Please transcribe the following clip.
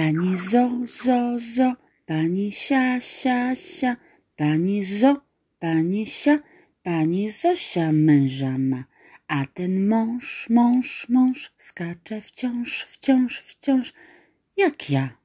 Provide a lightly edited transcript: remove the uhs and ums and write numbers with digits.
Pani zo, pani sia, pani zo, pani sia, pani Zosia męża ma, a ten mąż skacze wciąż, jak ja.